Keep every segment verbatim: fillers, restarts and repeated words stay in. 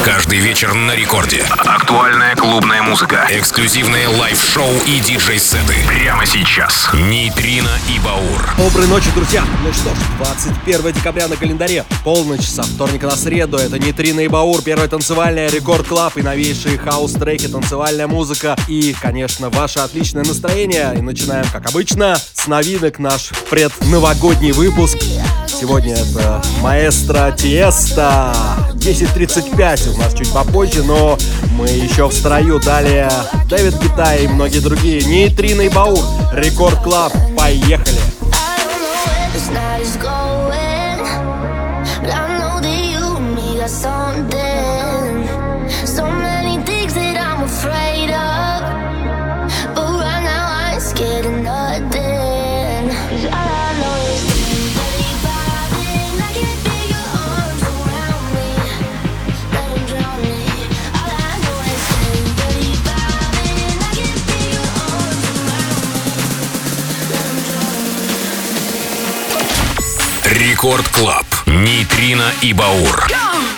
Каждый вечер на рекорде. Актуальная клубная музыка, эксклюзивные лайв-шоу и диджей-сеты. Прямо сейчас. Нейтрино и Баур. Доброй ночи, друзья. Ну что ж, двадцать первое декабря на календаре. Полночь со вторника на среду. Это Нейтрино и Баур. Первая танцевальная Рекорд Клаб и новейшие хаус-треки, танцевальная музыка и, конечно, ваше отличное настроение. И начинаем, как обычно, с новинок наш предновогодний выпуск. Сегодня это Маэстро Тиеста. десять тридцать пять у нас чуть попозже, но мы еще в строю. Далее Дэвид Гетта и многие другие. Нейтрино и Баур. Рекорд Клаб. Поехали. Рекорд Клаб. Нейтрино и Баур.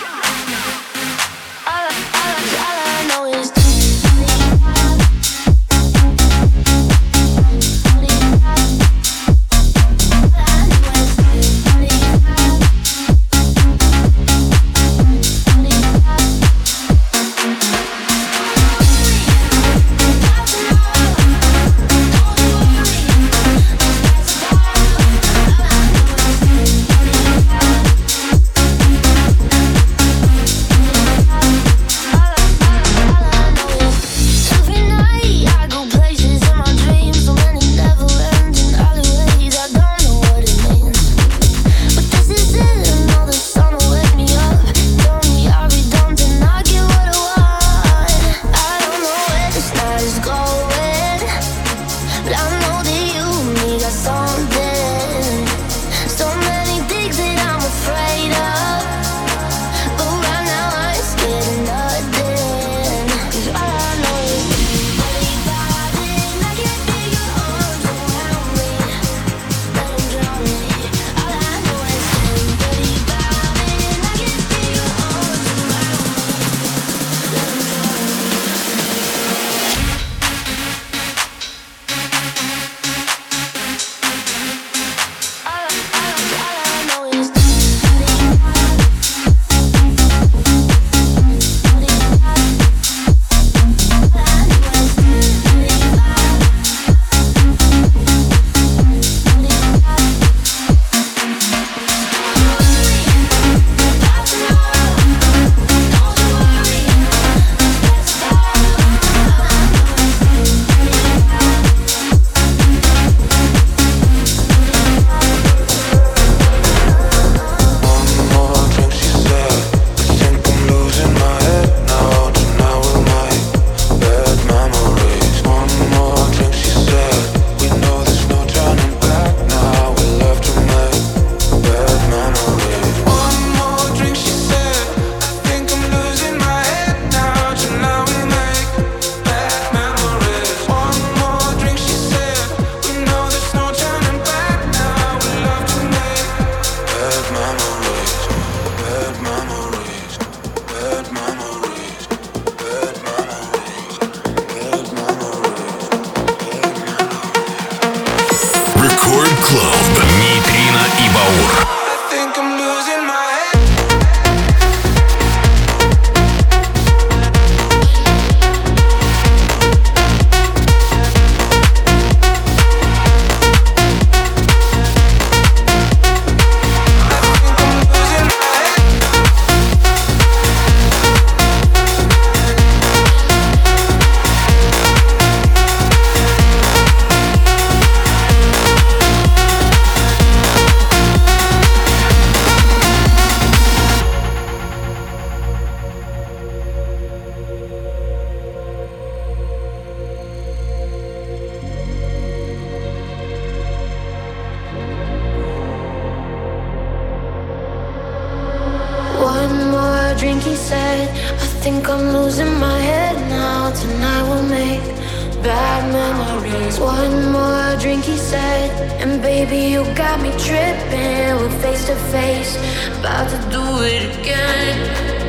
drink, he said, I think I'm losing my head now. Tonight we'll make bad memories. One more drink, he said, and baby, you got me tripping. We're face to face, about to do it again.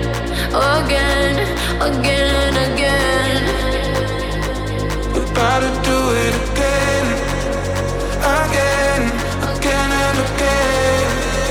again, again and again. We gotta do it again, again, again and again.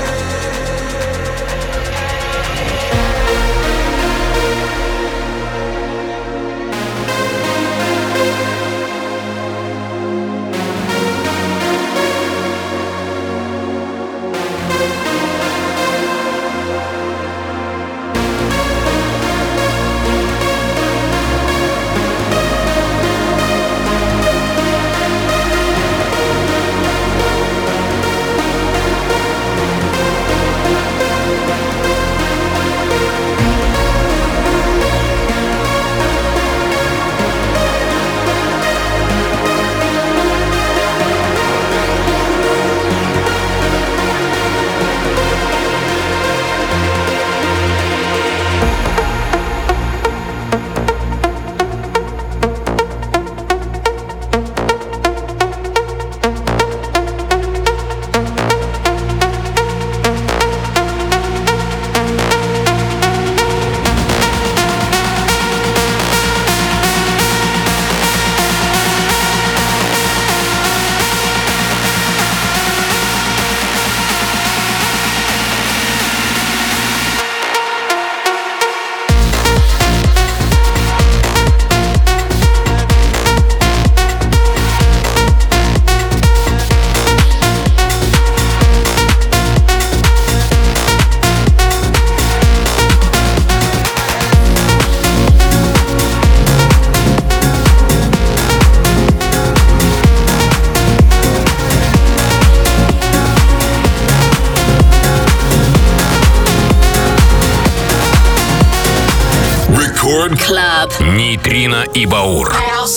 Club. Нейтрино и Баур.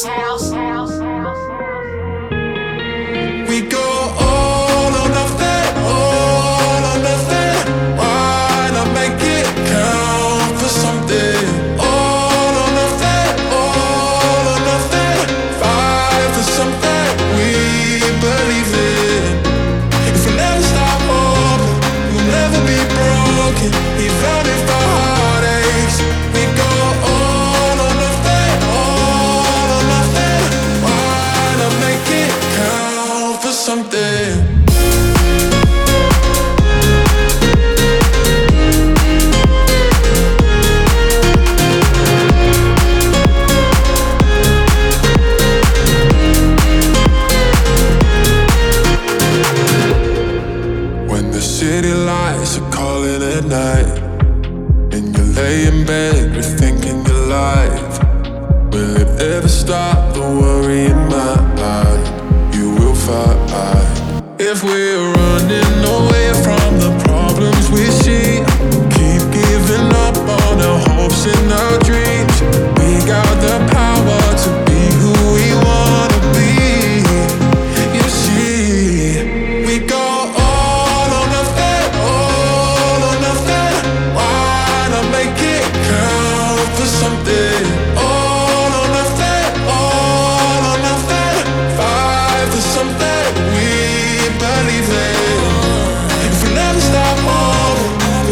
We go all or nothing, all or nothing. Why not make it count for something? All or nothing, all or nothing. Fight for something we believe in. If we never stop hoping, we'll never be broken. Even if our heartaches, we go all or nothing, all or nothing. Why not make it count for something? When the city lights are calling at night and you lay in bed rethinking your life, will it ever stop the worry in my mind? You will fight. If we're running away from the problems we see, keep giving up on our hopes and our dreams. We got the power to be who we wanna be. You see, we go all or nothing, all or nothing. Why not make it count for something? All or nothing, all or nothing. Fight for something we believe in. If we never stop hoping,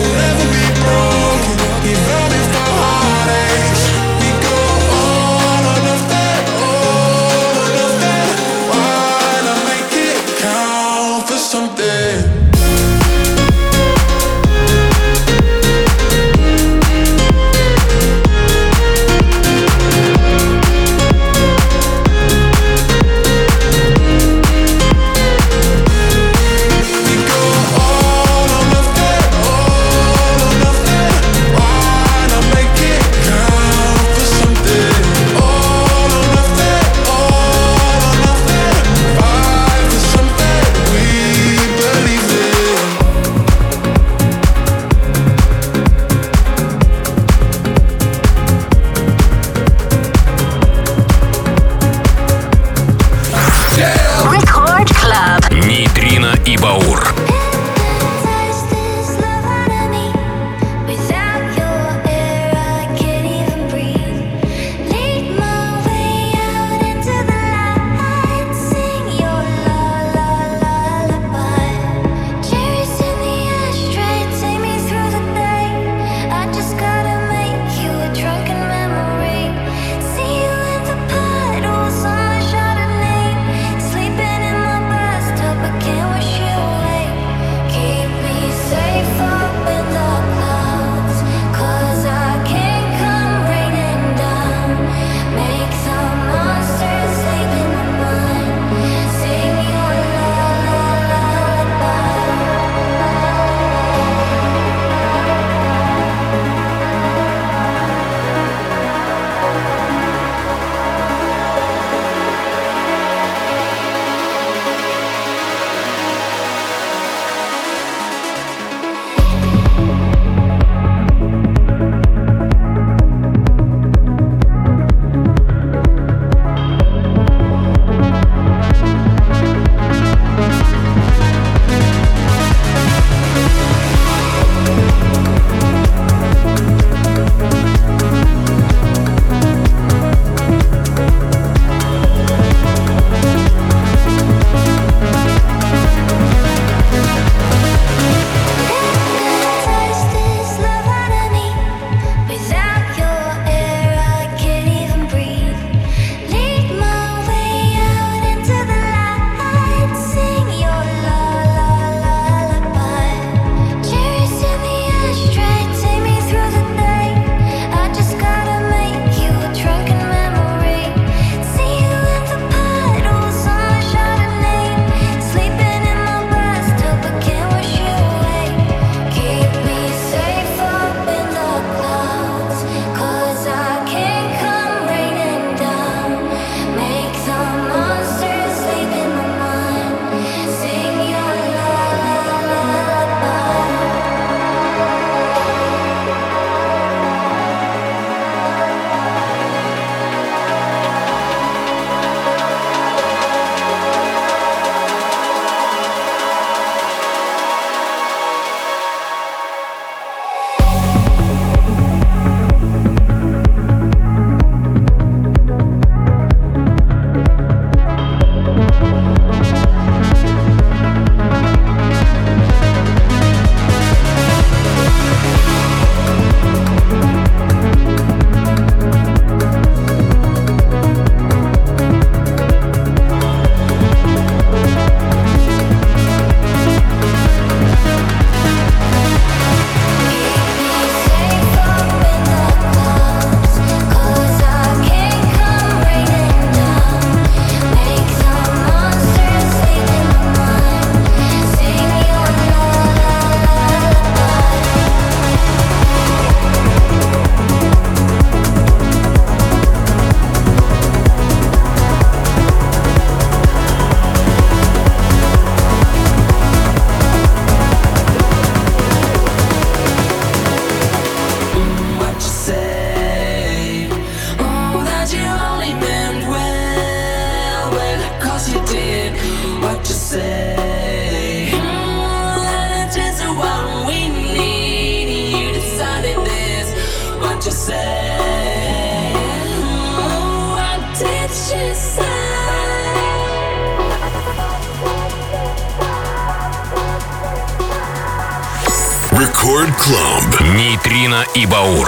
Рекорд Клаб. Нейтрино и Баур.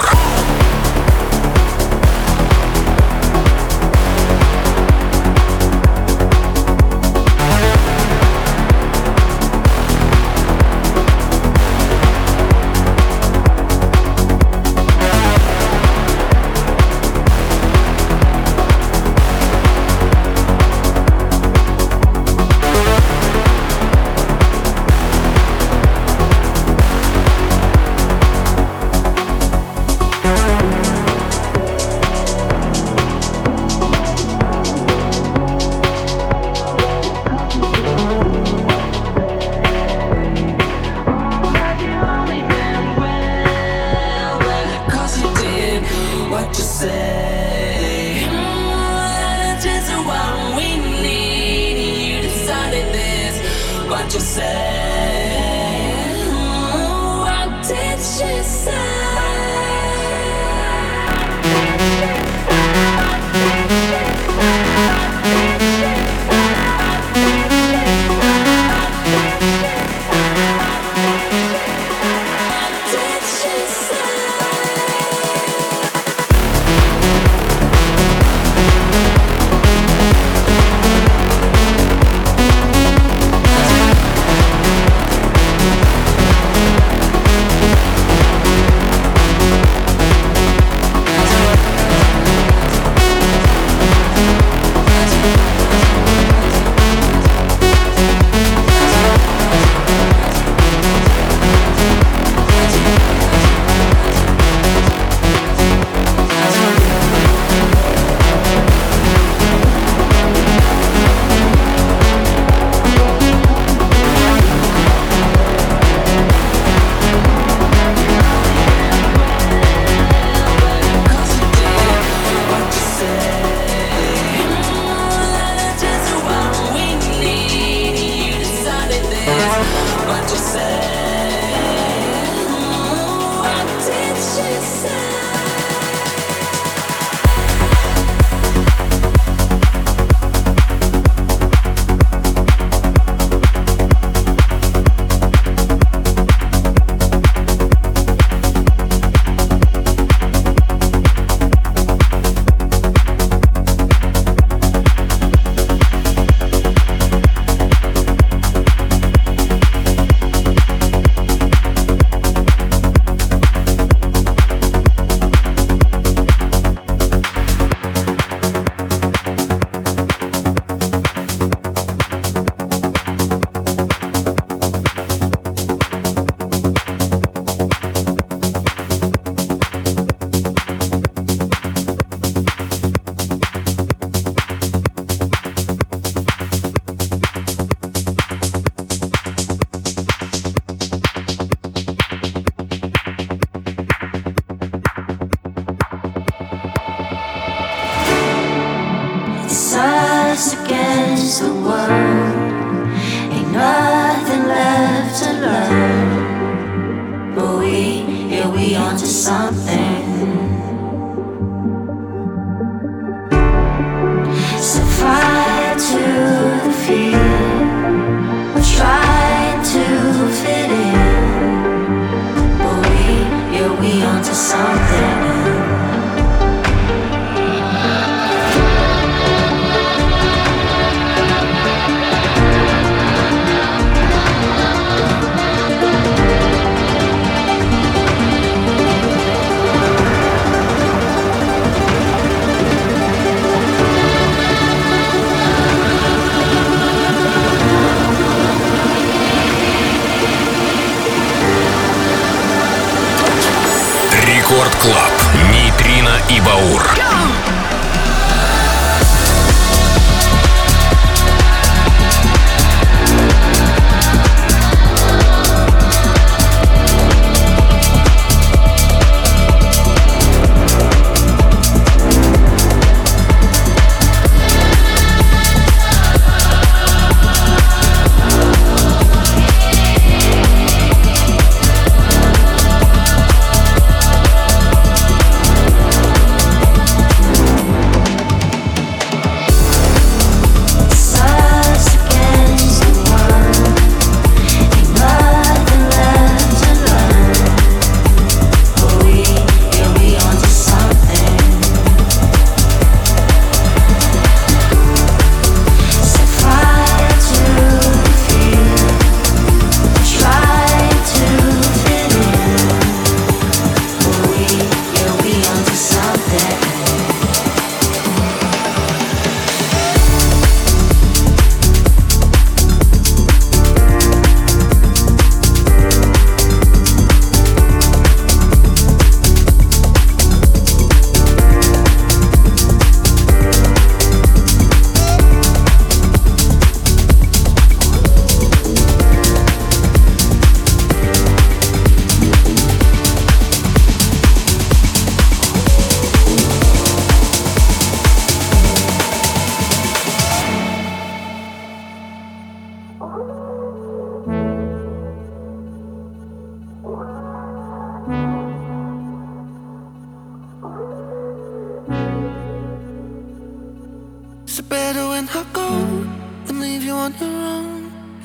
Рекорд Клаб. Нейтрино и Баур.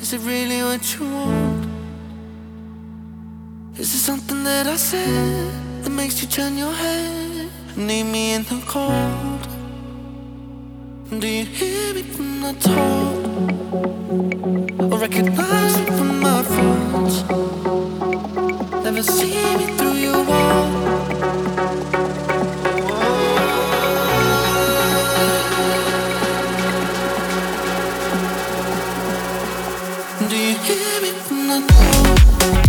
Is it really what you want? Is it something that I said that makes you turn your head? Need me in the cold? Do you hear me when I talk? Or recognize me from my phones? Never see me through your wall. Do you hear me when I talk?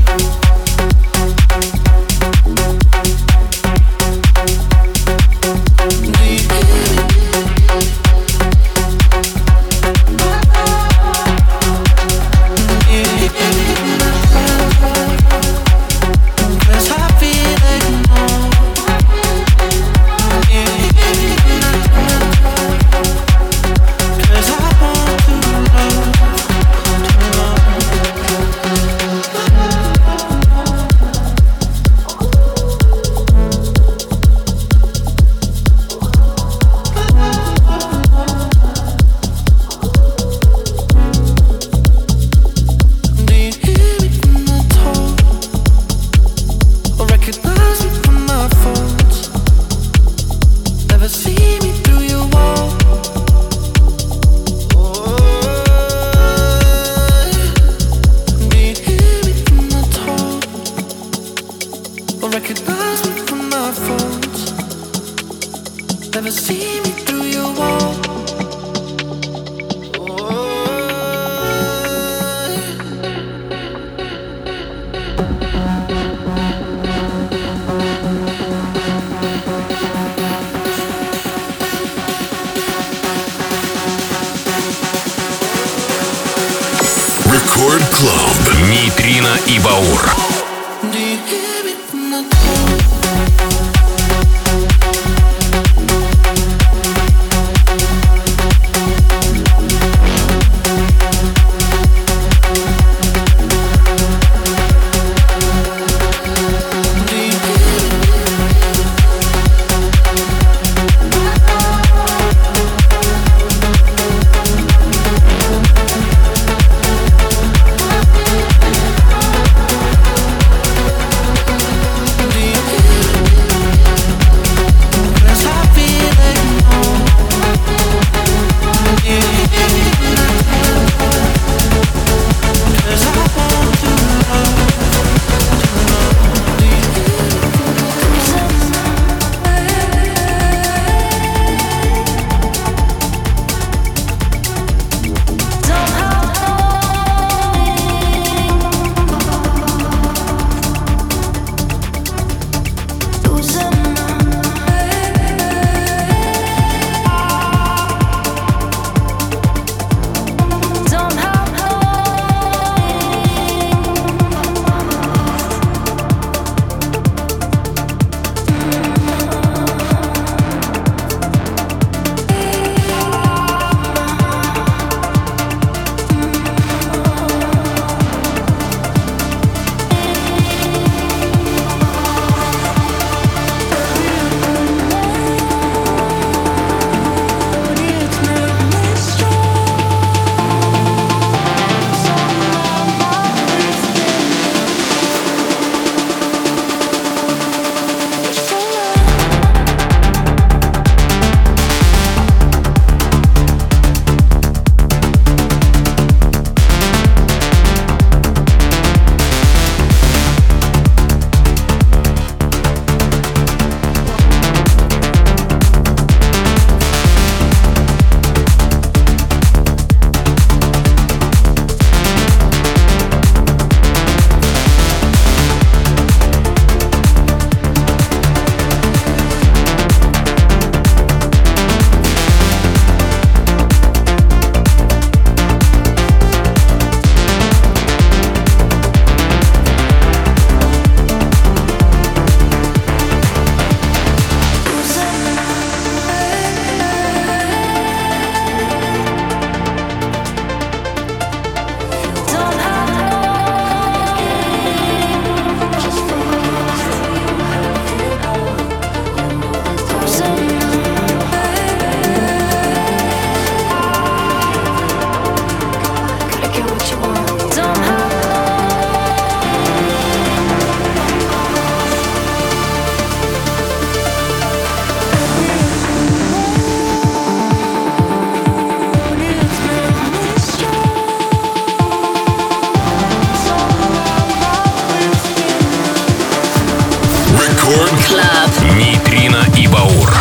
Рекорд Клаб. Нейтрино и Баур. Рекорд Клаб. Нейтрино и Баур.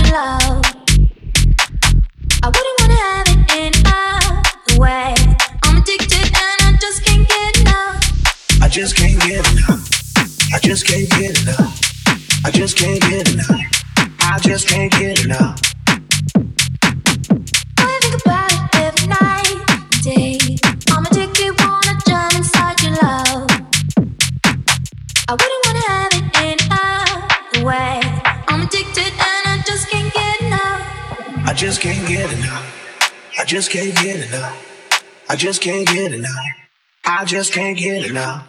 love. I wouldn't wanna have it any other way. I'm addicted and I just can't get enough. I just can't get enough. I just can't get enough. I just can't get enough. I just can't get enough. I think about it every night and day. I'm addicted, wanna jump inside your love. I wouldn't wanna have it any other way. I'm addicted and I just can't get enough. I just can't get enough. I just can't get enough. I just can't get enough. I just can't get enough.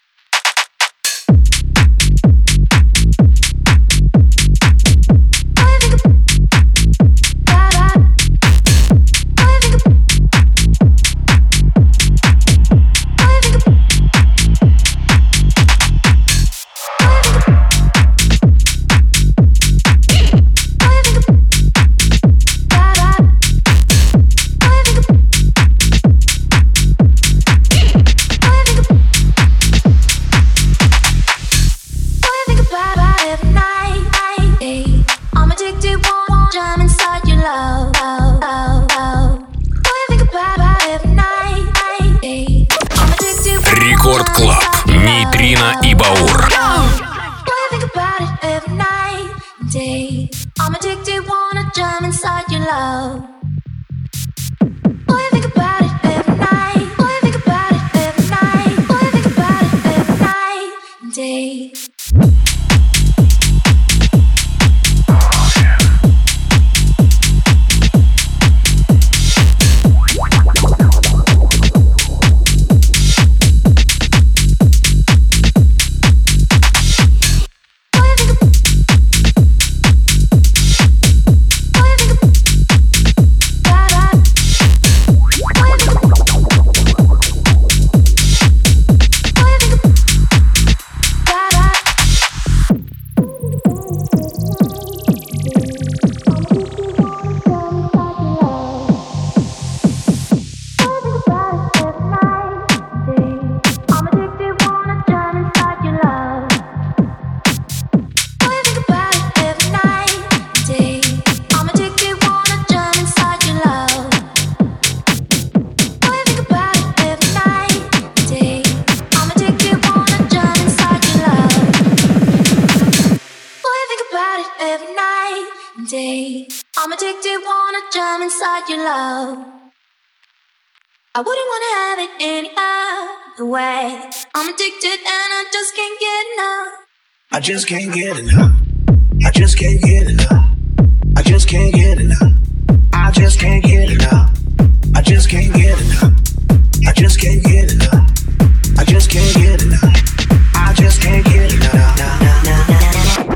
Рекорд Клаб. Нейтрино и Баур. I'm addicted, wanna jump inside your love. Boy, I think about it every night. Boy, I think about it every night. Boy, I think about it every night and day. I'm addicted, wanna jump inside your love. I wouldn't wanna have it any other way. I'm addicted and I just can't get enough. I just can't get enough. I just can't get enough. I just can't get enough. I just can't get enough. I just can't get enough. I just can't get enough. I just can't get enough. I just can't get enough. No, no, no, no, no.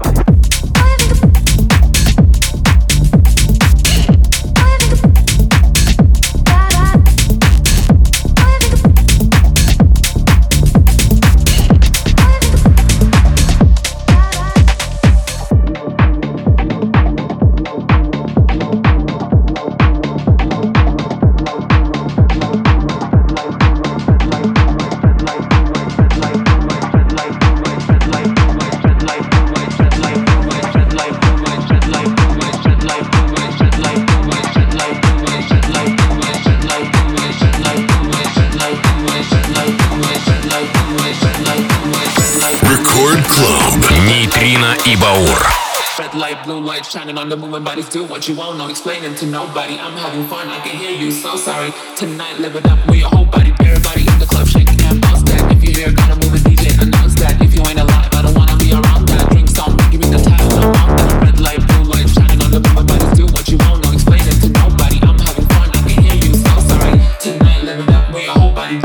И Баур. Red light, blue light, shining on the moving bodies. Do what you want, no explaining to nobody. I'm having fun, I can hear you, so sorry. Tonight, live it up with your whole body. Everybody in the club, shaking and bounce that. If you hear, gotta move a D J, announce that. If you ain't alive, I don't wanna be around that. Drinks don't give me the time, I want that. Red light, blue light, shining on the moving bodies. Do what you want, no explaining to nobody. I'm having fun, I can hear you, so sorry. Tonight, live it up with your whole body.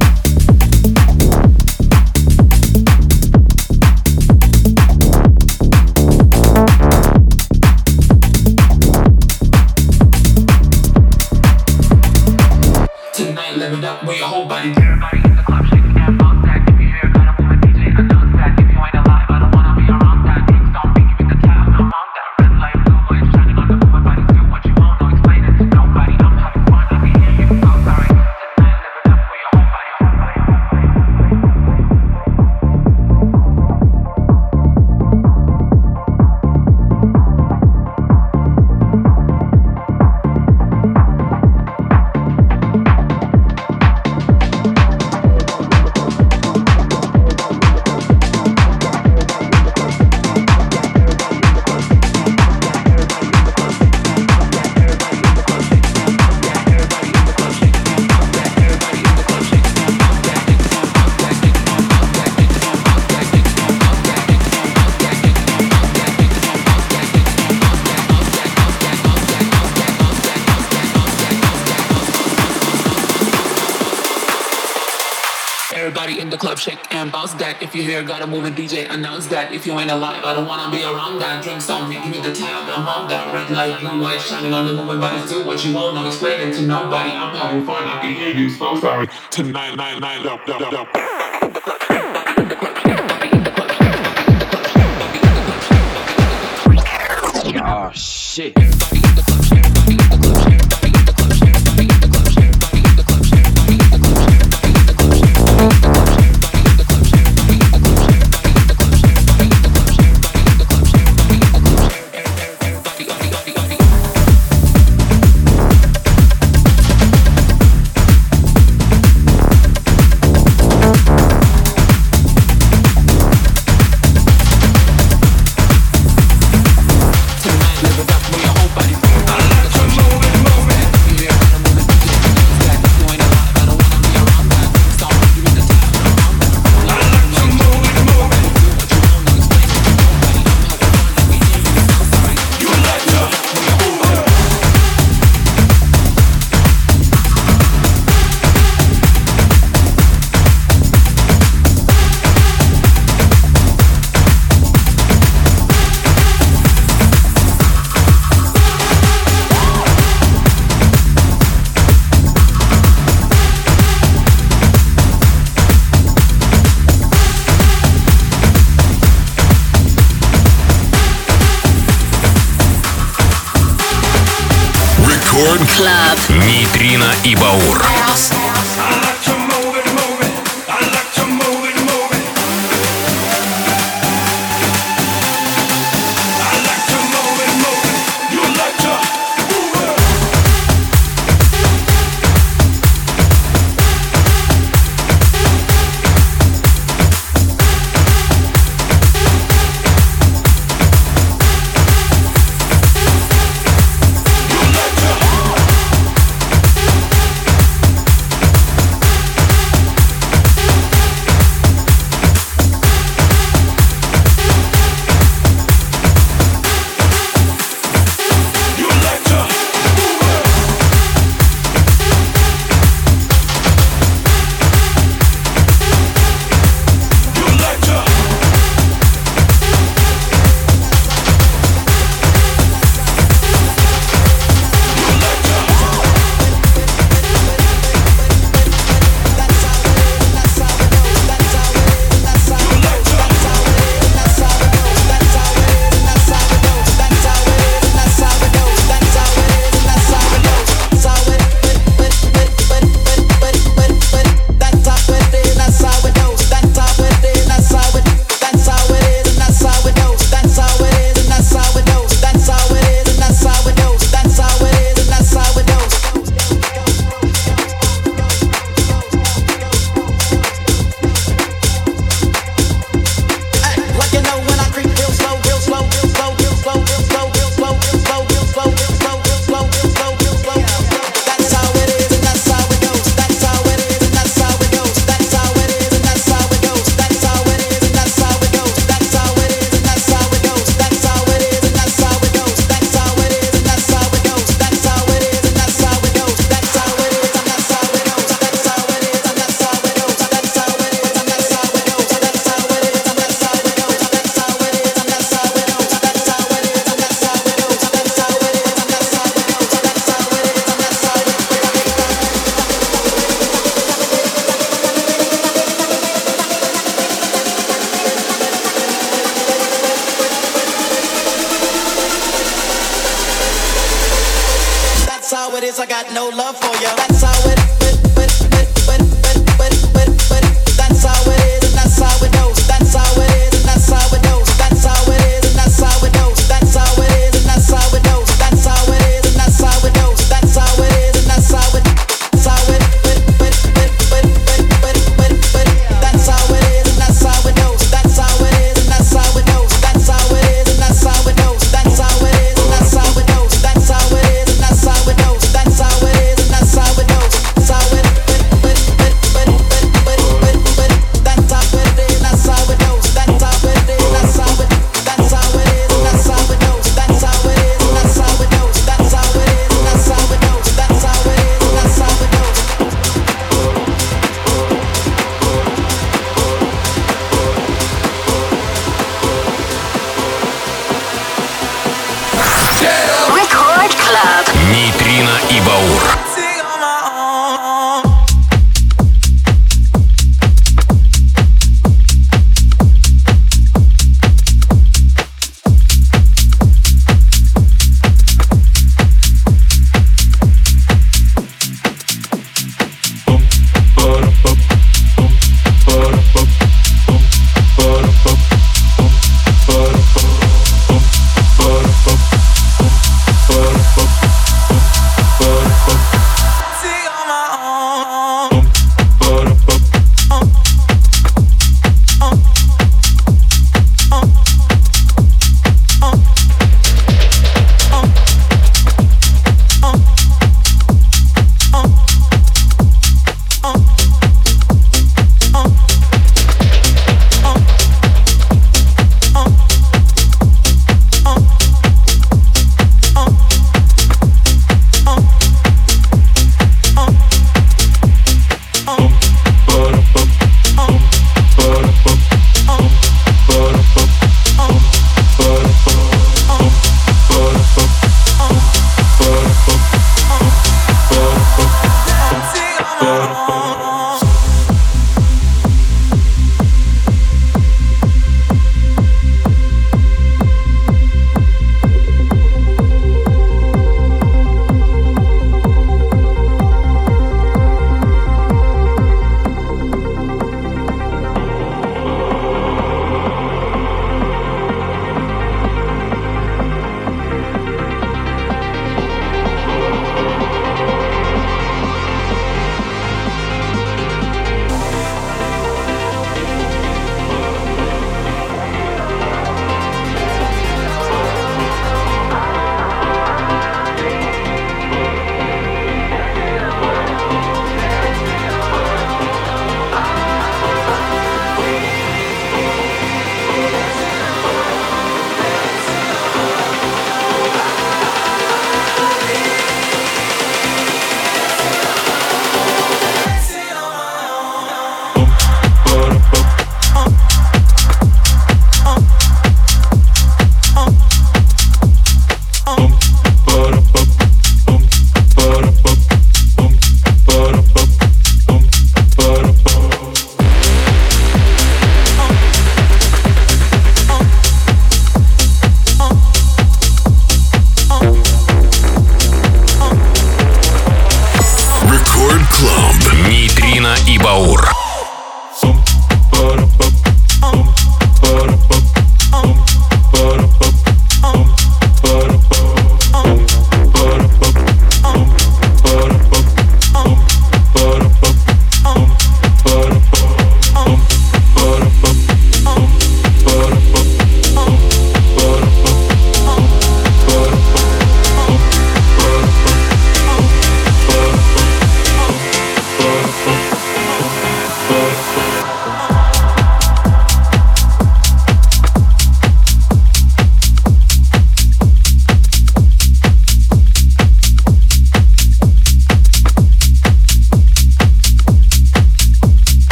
With your whole body. Everybody in the club shaking and bounce that. If you hear, gotta move a D J, announce that. If you ain't alive, I don't wanna be around that. the club, shake and bounce that. If you hear, gotta move it, D J, announce that. If you ain't alive, I don't wanna be around that. Drinks on me, give me the tab, I'm on that. Red light, blue light, shining on the moving bodies. Do what you want, don't explain it to nobody. I'm having fun, I can hear you, so sorry. Tonight, night, night, up, up, up. Oh shit. Club. Нейтрино и Баур. That's how it is, that's how it is, that's how it is, that's how it goes.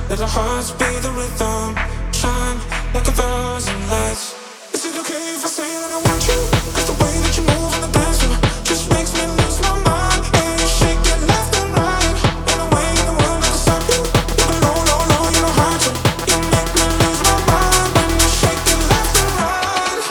Let our hearts be the rhythm, shine like a thousand lights. Is it okay if I say that I want you? 'Cause the way that you move on the dance floor just makes me lose my mind. And you shake it left and right, ain't no way in the world I can stop you. You go low, low, low, you know how to. You make me lose my mind when you shake it left and right.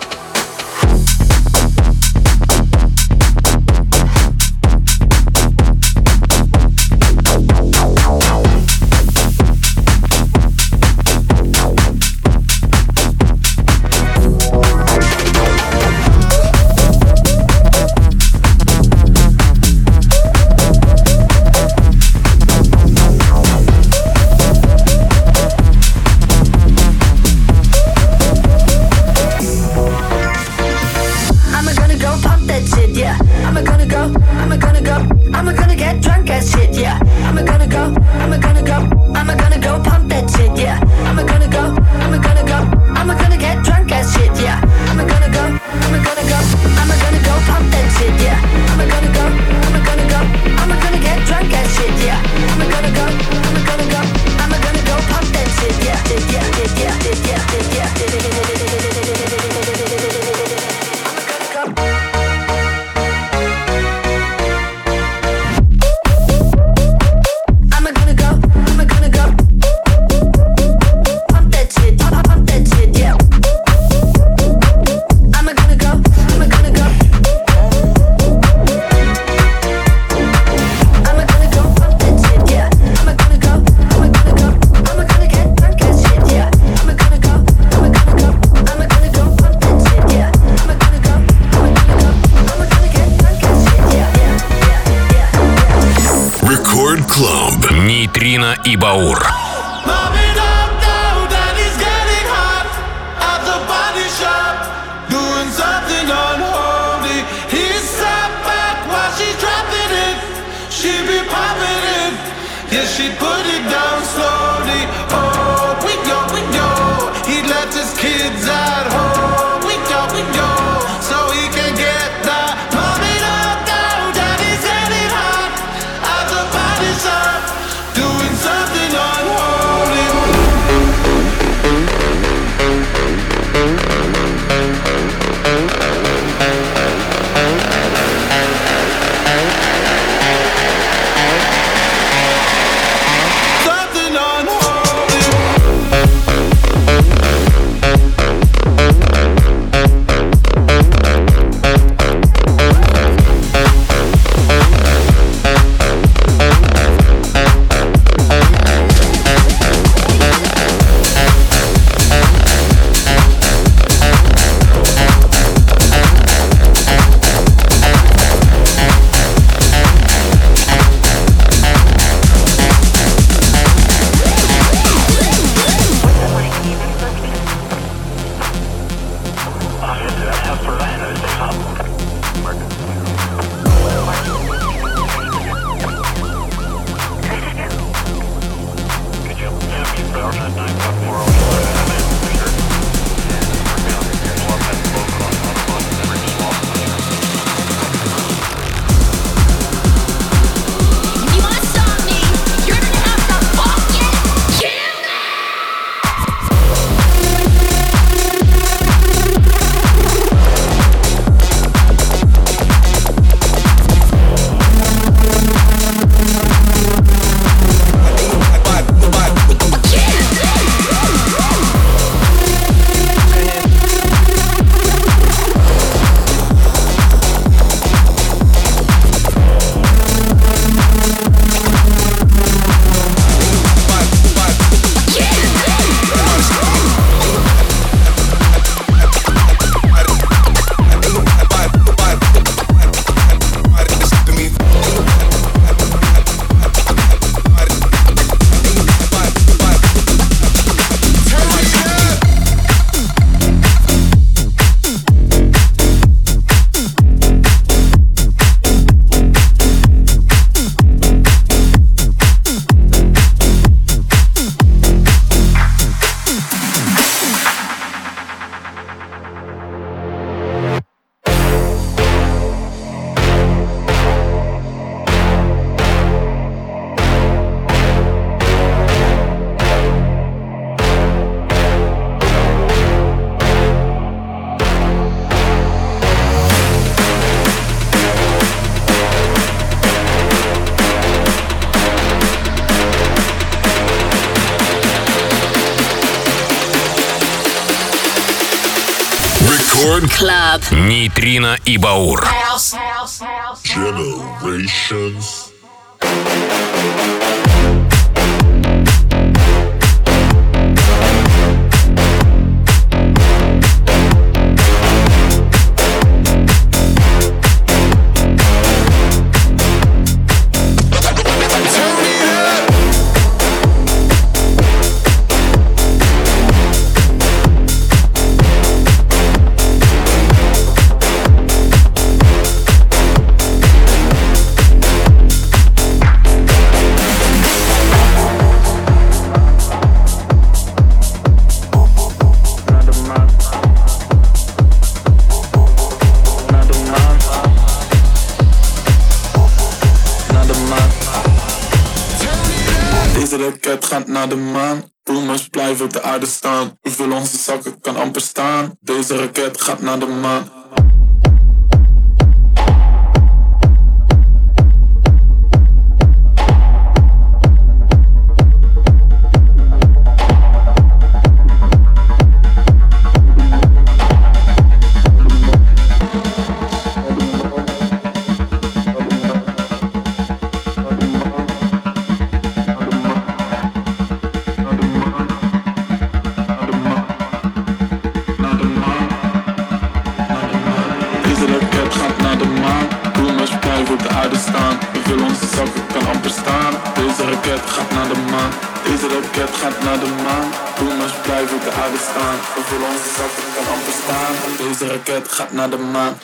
Нейтрино и Баур. She'd put it down slowly. Oh, we go, we go. He left his kids at home. We go, we go. So he can get that. Mommy, look down. Daddy's getting hot at the body shop, doing something unholy. Рекорд Клаб. Нейтрино и Баур. Generations. Het gaat naar de maan. Boomers blijven op de aarde staan. Hoeveel onze zakken kan amper staan. Deze raket gaat naar de maan. Deze raket gaat naar de maan.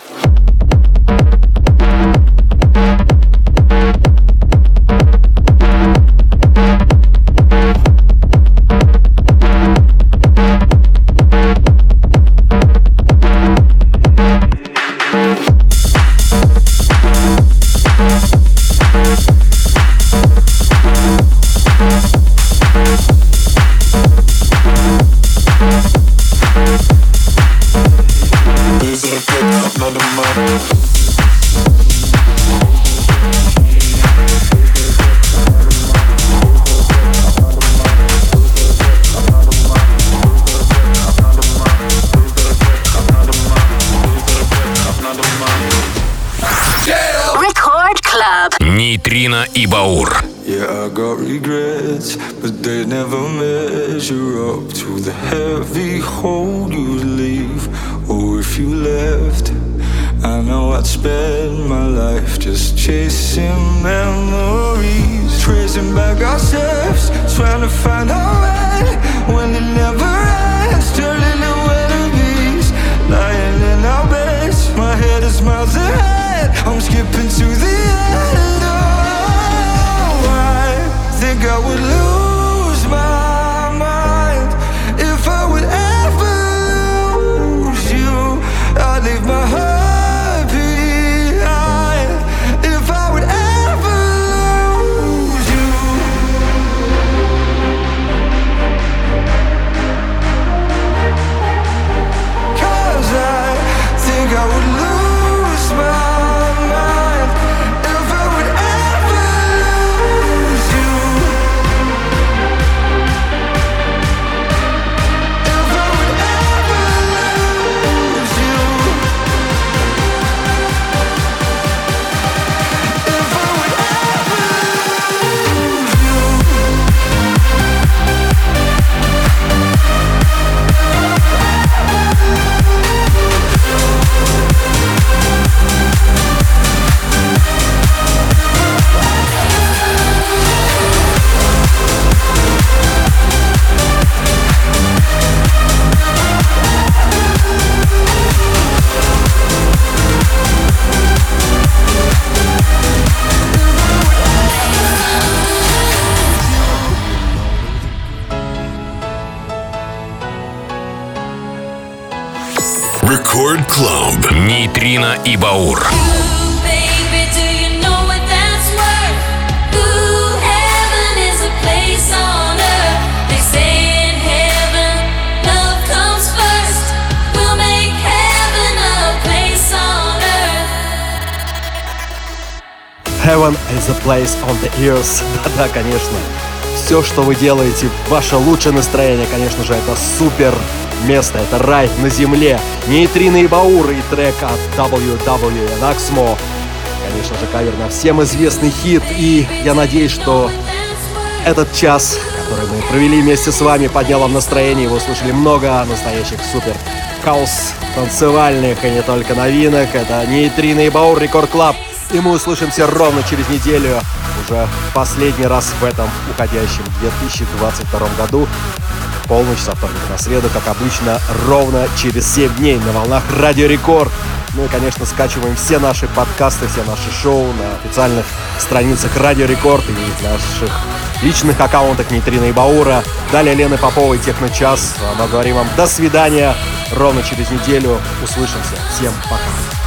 Нейтрино и Баур. Yeah, I got regrets, but they never measure up to the heavy hole you'd leave. Oh, if you left, I know I'd spend my life just chasing memories, tracing back our steps, trying to find our way when it never ends, turning to enemies, lying in our beds. My head is miles ahead, I'm skipping to the end. Think I would lose my mind if I would ever lose you. I'd leave my heart behind if I would ever lose you. Cause I think I would lose my mind if I would ever lose you. Рекорд Клаб. Нейтрино и Баур. Heaven is a place on the earth. Да-да, конечно. Все, что вы делаете, ваше лучшее настроение, конечно же, это супер место, это рай на земле. Нейтрино и Баур и трек от дабл ю дабл ю and Axmo. Конечно же, кавер на всем известный хит. И я надеюсь, что этот час, который мы провели вместе с вами, поднял вам настроение. Вы услышали много настоящих супер хаус танцевальных и не только новинок. Это Нейтрино и Баур, Рекорд Клаб. И мы услышимся ровно через неделю, уже последний раз в этом уходящем две тысячи двадцать втором году. Полночь со вторника на среду, как обычно, ровно через семь дней на волнах Радио Рекорд. Ну и, конечно, скачиваем все наши подкасты, все наши шоу на официальных страницах Радио Рекорд и в наших личных аккаунтах Нейтрино и Баура. Далее Лены Поповой, Техно-час. Мы говорим вам до свидания. Ровно через неделю услышимся. Всем пока.